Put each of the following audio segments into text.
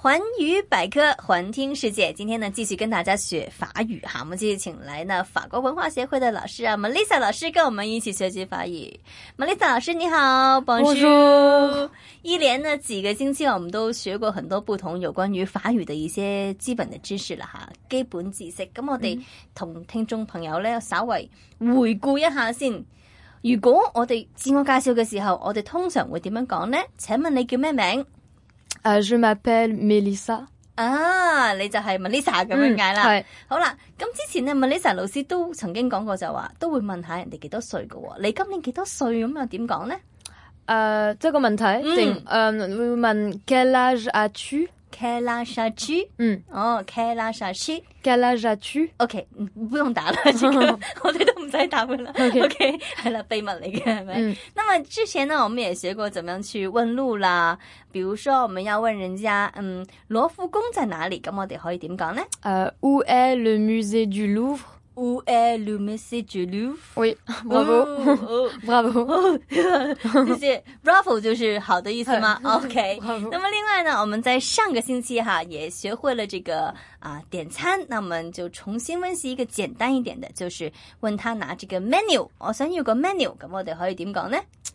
环语百科，环听世界。今天呢，继续跟大家学法语哈。我们继续请来呢法国文化协会的老师啊 ，Melissa 老师跟我们一起学习法语。Melissa 老师你好 ，Bonjour。一连呢几个星期，我們都學過很多不同有關於法語的一些基本的知識啦吓，基本知識。咁我哋同聽眾朋友咧稍微回顧一下先。如果我哋自我介紹嘅時候，我哋通常會點樣講呢？請問你叫咩名 ？Je m'appelle Melissa。 啊，你就係 Melissa 咁樣解啦。係好啦，咁之前呢 Melissa 老師都曾經講過就話，都會問下人哋幾多歲㗎喎。你今年幾多歲咁又點講呢？ 即係個問題定會問 Quel âge as-tu？Quel âge as-tu？ Quel âge as-tu？Quel âge as-tu？OK， 不用打了，這個我哋都唔使答了。OK， 係啦，秘密嚟嘅係咪？那麼之前呢，我們也學過怎麼樣去問路啦。比如說我們要問人家，羅浮宮在哪裡？咁我哋可以點講呢 ？Où est le musée du Louvre？Où est le musée du Louvre？ Oui， bravo，bravo， 謝謝 bravo 就是好的意思嗎？OK。那麼另外呢，我們在上個星期哈也學會了這個點餐，那我們就重新溫習一個簡單一點的，就是問他拿這個 menu， 我想要個 menu， 咁我哋可以點講呢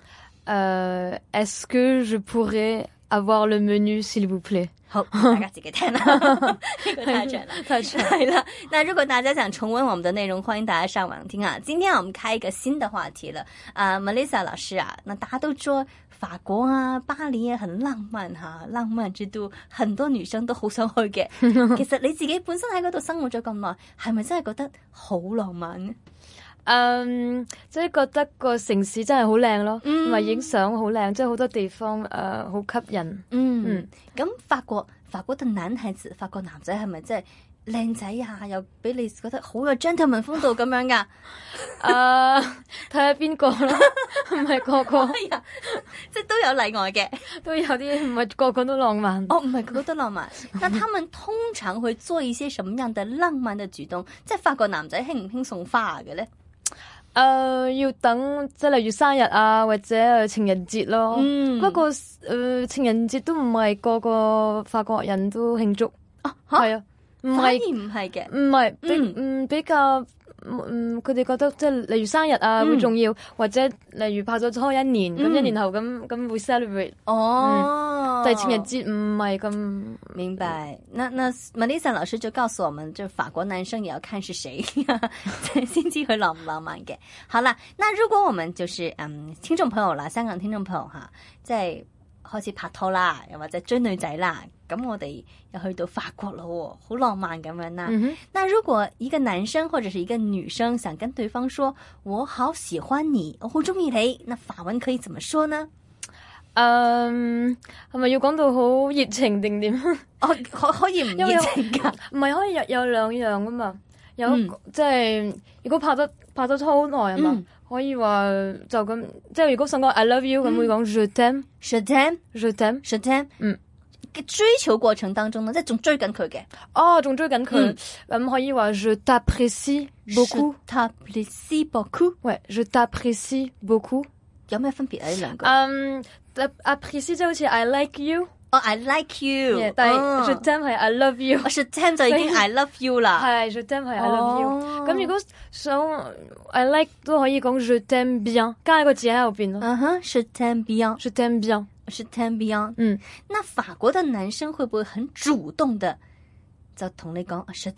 ？Est-ce que je pourrais avoir le menu s'il vous plaît？ 好，大家自己聽啦，呢個太長了， 太長係啦。那如果大家想重溫我們的內容，歡迎大家上網聽啊。今天我們開一個新的話題了，Melissa 老師啊，那大家都說法國啊，巴黎也很浪漫哈，浪漫之都，很多女生都好想去嘅。其實你自己本身喺嗰度生活咗咁耐，係咪真係覺得好浪漫呢？ 即係覺得個城市真係好靚咯，同埋影相好靚，即係好多地方好吸引。 咁法國的男孩子，法國男仔係咪真係靚仔啊？又俾你覺得好有 gentleman 風度咁樣噶？ 睇下邊個咯，唔係個個， 即係都有例外嘅， 都有啲唔係個個都浪漫。 哦，唔係個個都浪漫。那他們通常會做一些什麼樣的浪漫的舉動？即係法國男仔興唔興送花嘅咧？ 要等即係例如生日啊，或者情人節咯。不過情人節都唔係個個法國人都慶祝。係啊，唔係嘅， 唔係比較佢哋覺得即係例如生日啊會重要，或者例如拍咗拖一年，咁一年後咁會 celebrate。但係情人節唔係咁明白。那 Melissa 老師就告訴我們，就法國男生也要看是誰先知佢浪唔浪漫嘅。好啦，那如果我們就是聽眾朋友啦，香港聽眾朋友哈，即係開始拍拖啦，又或者追女仔啦，咁我哋又去到法國咯，好浪漫咁樣啦。那如果一個男生或者是一個女生想跟對方說我好喜歡你，我好中意你，那法文可以怎麼說呢？ 係咪要講到好熱情定點？ 可以唔熱情噶？ 唔係可以有兩樣噶嘛？有即係如果拍咗拖好耐啊嘛，可以話就咁，即係如果想講 I love you 咁會講 je t'aime。je t'aime。je t'aime。je t'aime。 追求過程當中呢，即係仲追緊佢嘅。仲追緊佢，咁可以話 je t'apprécie beaucoup。je t'apprécie beaucoup。喂，je t'apprécie beaucoup。 有咩分別啊？呢兩個 appreciate 即係好似 I like you。 I like you。 但係 je t'aime 係 I love you。 je t'aime 就已經 I love you 啦。 係 je t'aime 係 I love you。咁如果想 I like 都可以講 je t'aime bien，加一個字喺後邊咯。 je t'aime bien。je t'aime bien。je t'aime bien。那法國的男生會不會很主動的就同你講 je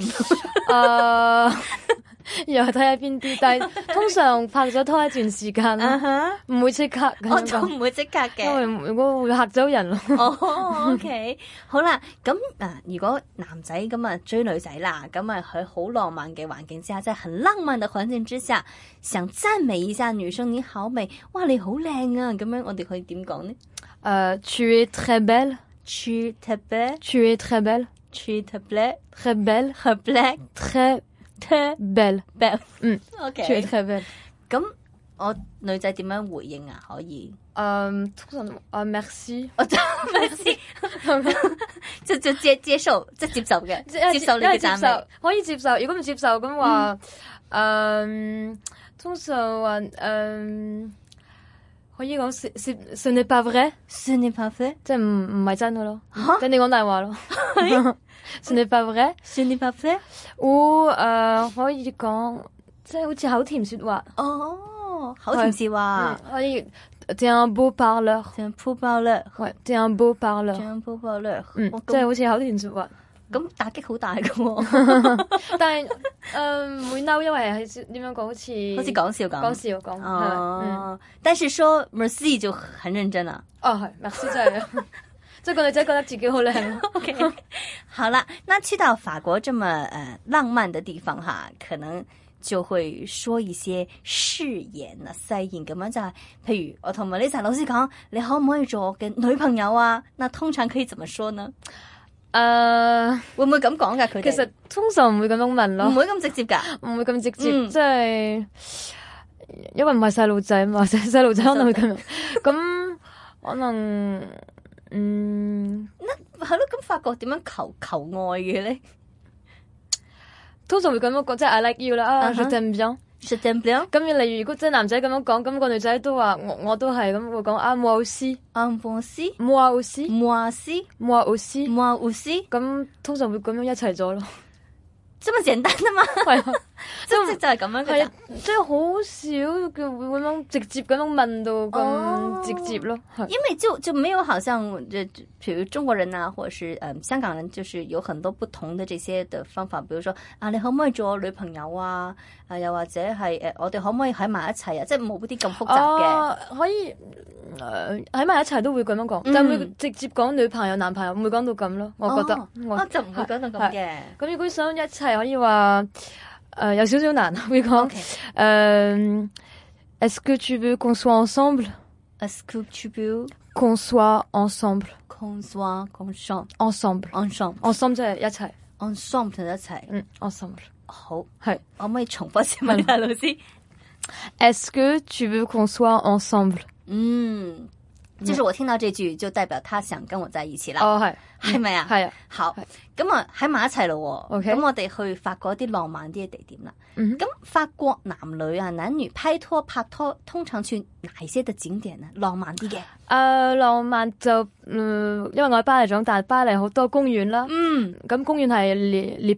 t'aime？ 又睇下邊啲，但係通常拍咗拖一段時間唔會即刻。 我就唔會即刻嘅， 因為如果會嚇走人咯。 OK， 好啦，咁如果男仔咁追女仔啦，咁喺好浪漫嘅環境之下，在很浪漫嘅環境之下，想讚美一下女生，你好美，哇你好靚啊，咁樣我哋可以點講呢 ？Tu es très belle。tu es très belle。tu es très belle。tu es très belle。 très belle。très belle。 OK。 tu es très belle。 咁我女仔點樣回應啊？可以通常merci。 merci。就接受，即係接受嘅，接受你嘅讚美， 可以接受。如果唔接受咁話，通常話可以講ce n'est pas vrai，ce n'est pas vrai， 即係唔係真嘅咯，即係你講大話咯。ce n'est pas vrai，ce n'est pas vrai， ou 可以講即係好似口甜説話。 哦，口甜説話， 可以。t'es un beau parleur，t'es un beau parleur， ouais t'es un beau parleur，t'es un beau parleur， 即係好似口甜説話。 咁打擊好大㗎喎， 但係唔會嬲，因為係點樣講，好似講笑咁。 講笑講。 哦，但是說 merci 就很認真啦。 哦，係 merci 真係，即係個女仔覺得自己好靚。 OK， 好啦，那去到法國這麼浪漫的地方哈，可能就會說一些誓言啊、誓言咁樣就係，譬如我同Melissa老師講，你可唔可以做我嘅女朋友啊？那通常可以怎麼說呢？會唔會咁講㗎？佢哋其實通常唔會咁樣問咯， 唔會咁直接㗎， 唔會咁直接，即係因為唔係細路仔嘛，細路仔可能會咁樣，咁可能係咯，咁法國點樣求愛嘅咧？ 通常會咁樣講，即係 I like you 啦，je t'aime bien，je t'aime bien。 咁例如如果即係男仔咁樣講，咁個女仔都話我都係咁會講啊moi aussi，moi aussi，moi aussi，moi aussi，moi aussi，咁通常會咁樣一齊咗咯。 這麼簡單啊嘛，係啊，即就係咁樣嘅， 即係好少嘅會咁樣直接咁樣問到咁直接咯。 因為就沒有好像譬如中國人啊，或者是香港人，就是有很多不同的這些的方法，比如說啊，你可唔可以做我女朋友啊？又或者係我哋可唔可以喺埋一齊啊？即係冇啲咁複雜嘅， 可以喺埋一齊都會咁樣講，但係會直接講女朋友、男朋友，唔會講到咁咯。我覺得就唔會講到咁嘅。 咁如果想一齊，可以話有少少難，會講Est-ce que tu veux qu'on soit ensemble？Est-ce que tu veux qu'on soit ensemble？Qu'on soit ensemble，ensemble 即係一齊 ，ensemble 就一齊 ，ensemble。 好， 係可唔可以重複先問下老師 ？Est-ce que tu veux qu'on soit ensemble？ 就是我聽到這句就代表他想跟我在一起啦。 哦， 係咪啊？ 係啊。 好，咁啊喺埋一齊咯。 OK， 咁我哋去法國啲浪漫啲嘅地點啦。咁法國男女啊，男女拍拖通常去哪一些的景點呢？浪漫啲嘅。 浪漫就因為我喺巴黎長大，巴黎好多公園啦。咁公園係les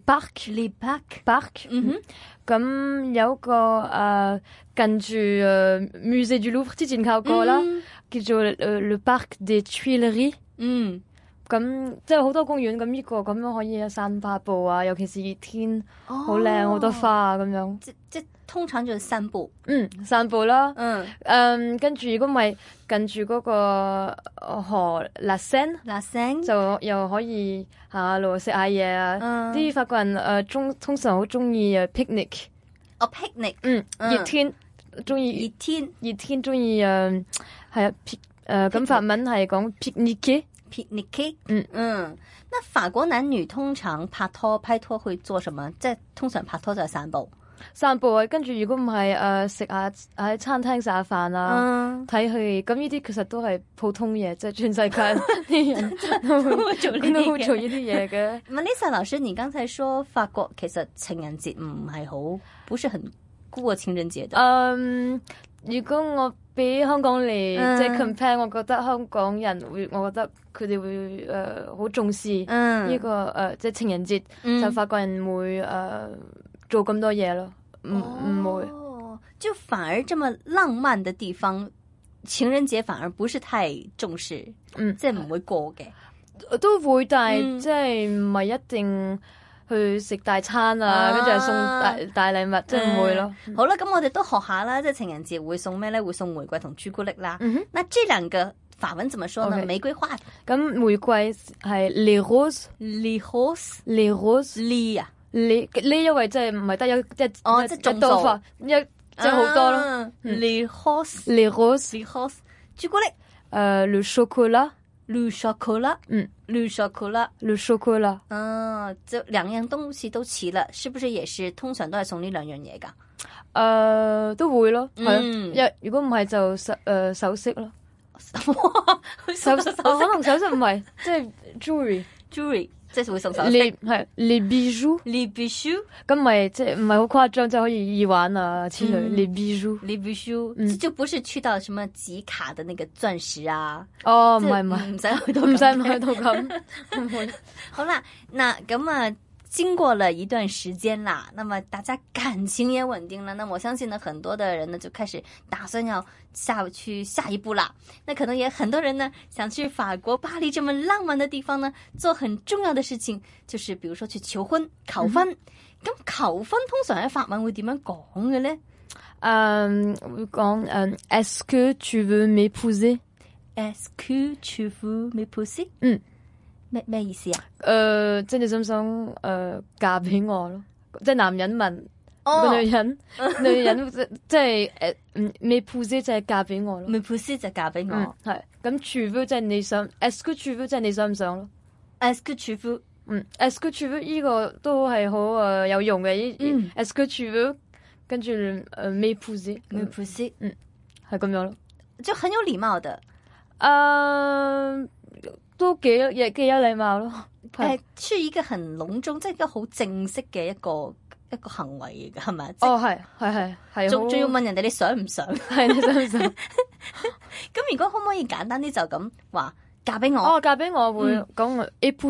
parcs。咁有個近住Musée du Louvre 之前靠過啦，叫做le Parc des Tuileries。咁即係好多公園，咁呢個咁樣可以散下步啊，尤其是熱天，好靚，好多花啊咁樣。 即通常就係散步。 散步啦。跟住如果唔係近住嗰個河La Seine，就又可以行下路食下嘢啊。啲法國人通常好中意picnic。 picnic。 熱天中意中意係咁法文係講 picnic。 那法國男女通常拍拖會做什麼？即係通常拍拖就係散步啊，跟住如果唔係食下喺餐廳食下飯啊，睇戲，咁呢啲其實都係普通嘢，即係全世界啲人都會做呢啲嘢嘅。 Melissa 老師，你剛才說法國其實情人節唔係好，不是很過情人節的。 如果我俾香港嚟即係 compare，我覺得香港人我覺得佢哋會好重視呢個即係情人節，就法國人會做咁多嘢咯，唔會。 就反而這麼浪漫的地方，情人節反而不是太重視，即係唔會過嘅， 都會，但係即係唔係一定去食大餐啊，跟住又送大禮物，即係唔會咯。 好啦，咁我哋都學下啦，即係情人節會送咩咧？會送玫瑰同朱古力啦。那這兩個法文怎麼說呢？玫瑰花。咁玫瑰係 les roses，les roses，les 啊 ，les 因為即係唔係得即係多法，即係好多咯。 les roses，朱古力。 le chocolat。le chocolat，就兩樣東西都齊了，是不是也是通常都係送呢兩樣嘢噶？ 都會咯，係如果唔係就首飾咯。可能首飾唔係，即係 jewelry， 即係會送首飾。 係les bijoux，les bijoux， 咁咪即係唔係好誇張，即係可以耳環啊之類。les bijoux，les bijoux，就不是去到什麼集卡的那個鑽石啊。 哦，唔係， 唔使去到咁。 好啦，那咁啊。經過了一段時間啦，那麼大家感情也穩定了，那我相信呢，很多的人呢就開始打算要去下一步啦。那可能也很多人呢想去法國巴黎這麼浪漫的地方呢，做很重要的事情，就是比如說去求婚、求婚。咁求婚通常喺法文會點樣講嘅呢？ 會講Est-ce que tu veux m'épouser? Est-ce que tu veux m'épouser? 咩意思啊？ 即係你想唔想嫁俾我咯？即係男人問個女人，女人即係m'épouser即係嫁俾我咯。 m'épouser就嫁俾我， 係咁 tu veux 即係你想 ，est-ce que tu veux 即係你想唔想咯 ？est-ce que tu veux？est-ce que tu veux 呢個都係好有用嘅。est-ce que tu veux 跟住m'épouser，係咁樣咯， 就很有禮貌的。 都幾有禮貌咯。 係一個很隆重，即係一個好正式嘅一個行為嚟㗎，係咪？ 係。 仲要問人哋你想唔想？ 係你想唔想？ 咁如果可唔可以簡單啲就咁話嫁俾我？ 嫁俾我會講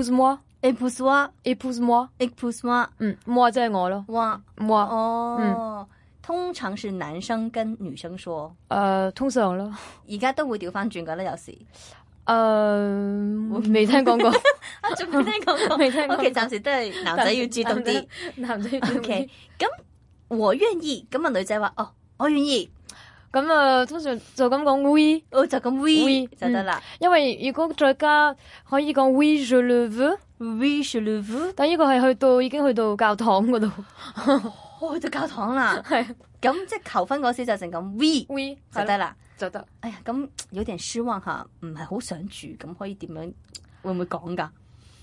épouse-moi。moi 即係我咯。 moi。通常是男生跟女生說。 通常咯。 而家都會調翻轉㗎啦，有時。 未聽講過， 仲未聽講過， 未聽過。 OK，暫時都係男仔要主動啲， 男仔要主動啲。 OK，咁我願意，咁啊女仔話我願意， 咁通常就咁講 oui， 就咁 oui 就得啦。 因為如果再加可以講 oui je le veux，oui je le veux， 但呢個係已經去到教堂嗰度， 去到教堂啦。係，咁即係求婚嗰時就成咁 oui 就得啦。 就得。 哎呀，咁有點失望吓，唔係好想住，咁可以點樣？會唔會講㗎？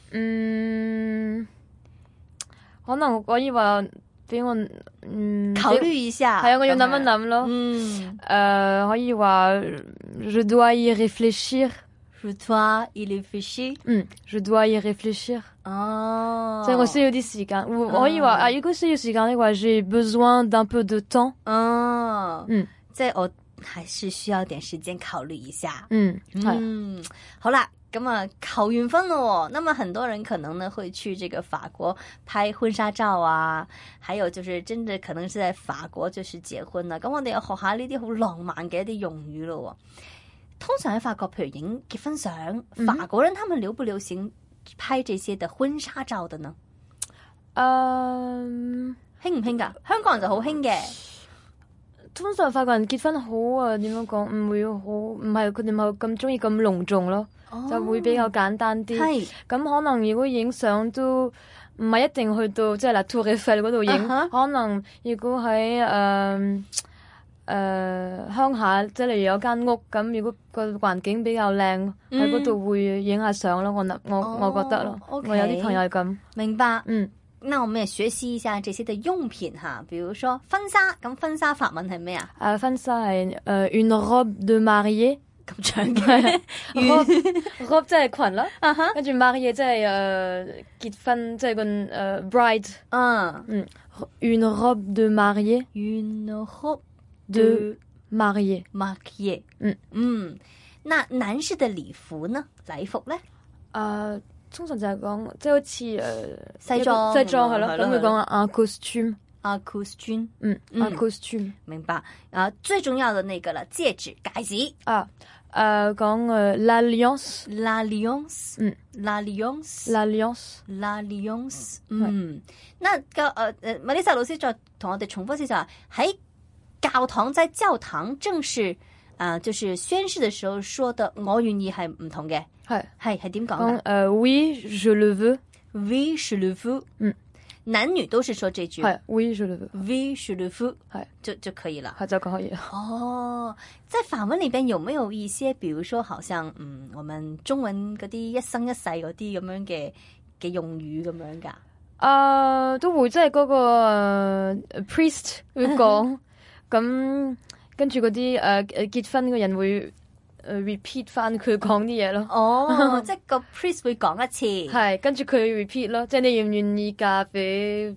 可能可以話俾我考慮一下。 係啊，我要諗一諗咯。可以話 je dois y réfléchir。je dois y réfléchir。 je dois y réfléchir。 哦， 即係我需要啲時間。可以話如果需要時間嘅話 j'ai besoin d'un peu de temps。 即係我。還是需要點時間考慮一下。好啦，咁啊求完婚咯，那麼很多人可能呢會去這個法國拍婚紗照啊，還有就是真的可能是在法國就是結婚啦。咁我哋要學下呢啲好浪漫嘅一啲用語咯。通常喺法國，譬如影結婚相，法國人他們流不流行拍這些的婚紗照的呢？興唔興㗎？香港人就好興嘅。 通常法國人結婚好點樣講？唔係佢哋冇咁中意咁隆重咯，就會比較簡單啲。係咁可能如果影相都唔係一定去到即係La Tour Eiffel嗰度影，可能如果喺鄉下，即係例如有間屋咁，如果個環境比較靚，喺嗰度會影下相咯。我覺得咯，我有啲朋友係咁。 明白。那我們也學習一下這些的用品哈，比如說婚紗，咁婚紗法文係咩啊？ 婚紗係une robe de mariée 咁長嘅 robe 即係裙啦，跟住 mariée 即係結婚，即係個bride。une robe de mariée。une robe de mariée。 那男士的禮服呢？禮服咧？ 通常就係講即係好似西裝係咯，咁會講un costume。un costume。 明白。最重要的那個啦，戒指、戒指。 講l'alliance。 l'alliance。那個Melissa 老師再同我哋重複一下，喺教堂在教堂正式就是宣誓的時候說的我願意係唔同嘅。係點講㗎 ？Oui je le veux。 Oui je le veux。男女都是說這句。 Oui je le veux。 Oui je le veux。就可以了。 就可以了。 在法文裏邊有沒有一些，比如說好像我們中文嗰啲一生一世嗰啲咁樣嘅用語咁樣㗎？ 都會，即係嗰個priest 會講，咁跟住嗰啲結婚嘅人會 repeat 翻佢講啲嘢咯。 哦，即係個 priest 會講一次， 係跟住佢 repeat 咯，即係你願唔願意嫁俾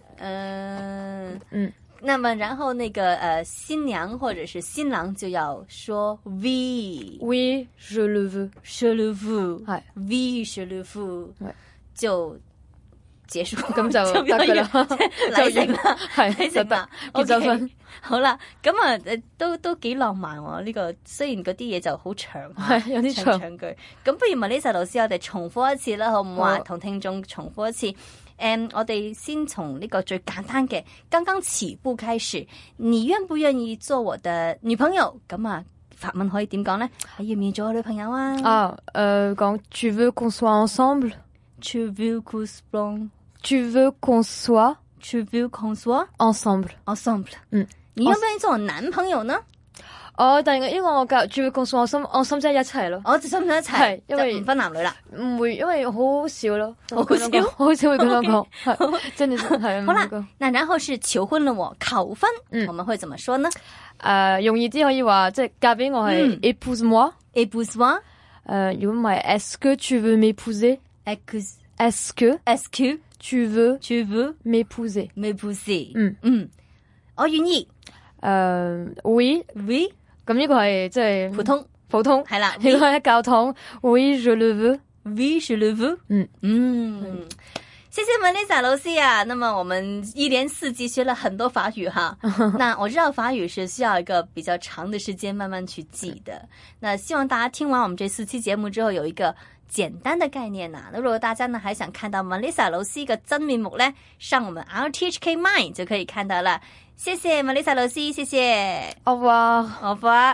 那麼然後那個新娘或者是新郎就要說 oui je le veux je le veux 係 oui je le veux 就結束， 咁就得㗎啦， 禮成啦， 係禮成啦， 結咗婚。 好啦，咁啊都幾浪漫喎，呢個雖然嗰啲嘢就好長， 係有啲長句。咁不如Melissa老師，我哋重複一次啦，好唔好啊？同聽眾重複一次。我哋先從呢個最簡單嘅剛剛起步開始，你願不願意做我的女朋友？咁啊，法文可以點講咧？你願唔願意做我女朋友啊？ 講 tu veux qu'on soit ensemble， tu veux qu'on soit tu veux qu'on soit tu veux qu'on soit ensemble ensemble。你願唔願意做我男朋友呢？ 但係因為我教住會共訴我心即係一齊咯， 我就心唔一齊， 因為唔分男女啦， 唔會，因為好少咯， 好少會咁樣講，真係係。 好啦，那然後是求婚了我，求婚，我們會怎麼說呢？ 容易啲可以話即係嫁俾我係 épouse moi，épouse moi。如果唔係 est-ce que tu veux m'épouser？est-ce que tu veux m'épouser？m'épouser。 我願意。 oui。咁呢個係即係普通係啦。 如果喺教堂 oui je le veux，oui je le veux。謝謝Melissa老師啊。那麼我們一連4集學了很多法語哈。那我知道法語是需要一個比較長的時間慢慢去記的。那希望大家聽完我們這4期節目之後有一個簡單的概念啊。那如果大家呢還想看到Melissa老師嘅真面目呢，上我們 RTHK Mind 就可以看到了。謝謝Melissa老師，謝謝。 au revoir。 au revoir。